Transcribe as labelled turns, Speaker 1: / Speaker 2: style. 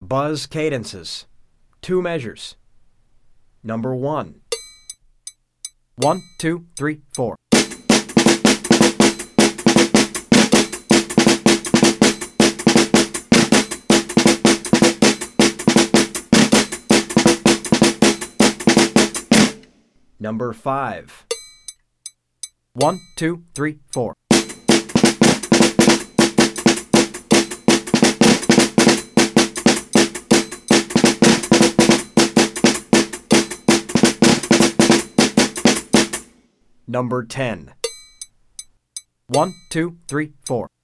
Speaker 1: Buzz cadences. 2 measures. Number 1. 1, 2, 3, 4. Number 5. 1, 2, 3, 4. Number 10. 1, 2, 3, 4.